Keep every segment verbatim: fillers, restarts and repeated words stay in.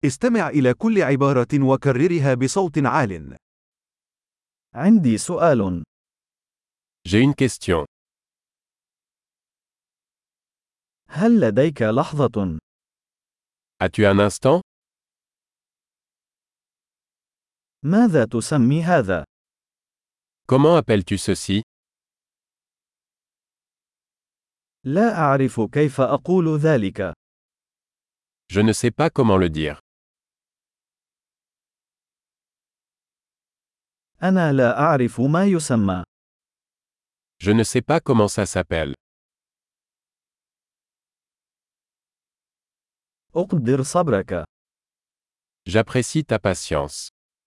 استمع إلى كل عبارة وكررها بصوت عال. عندي سؤال. J'ai une question. هل لديك لحظة؟ As-tu un instant? ماذا تسمي هذا؟ Comment appelles-tu ceci? لا أعرف كيف أقول ذلك. Je ne sais pas comment le dire. أنا لا أعرف ما يسمى. Je ne sais pas comment ça s'appelle. أقدر صبرك. J'apprécie ta patience.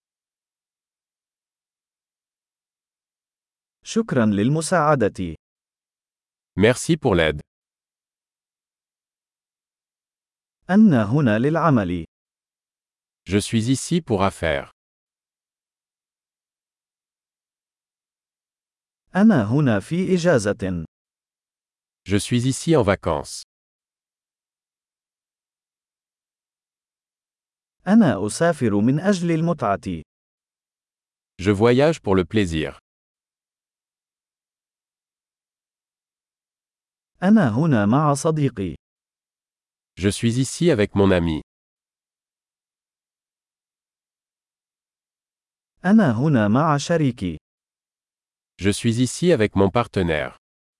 شكرا للمساعدة. Merci pour l'aide. أنا هنا للعمل. Je suis ici pour affaires. أنا هنا في إجازة. Je suis ici en vacances. أنا أسافر من أجل المتعة. Je voyage pour le plaisir. أنا هنا مع صديقي. Je suis ici avec mon ami. أنا هنا مع شريكي. Je suis ici avec mon partenaire.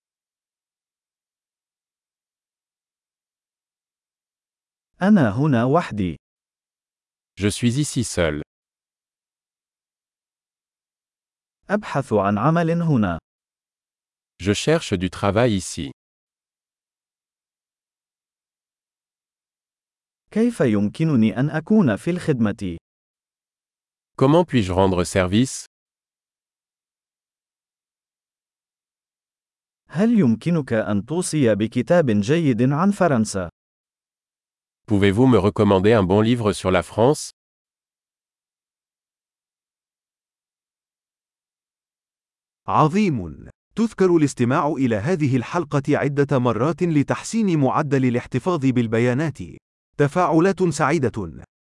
أنا هنا وحدي. Je suis ici seul. أبحث عن عمل هنا. Je cherche du travail ici. كيف يمكنني أن أكون في الخدمة؟ Comment puis-je rendre service? هل يمكنك أن توصي بكتاب جيد عن فرنسا؟ Pouvez-vous me recommander un bon livre sur la France? عظيم. تذكر الاستماع إلى هذه الحلقة عدة مرات لتحسين معدل الاحتفاظ بالبيانات. تفاعلات سعيدة.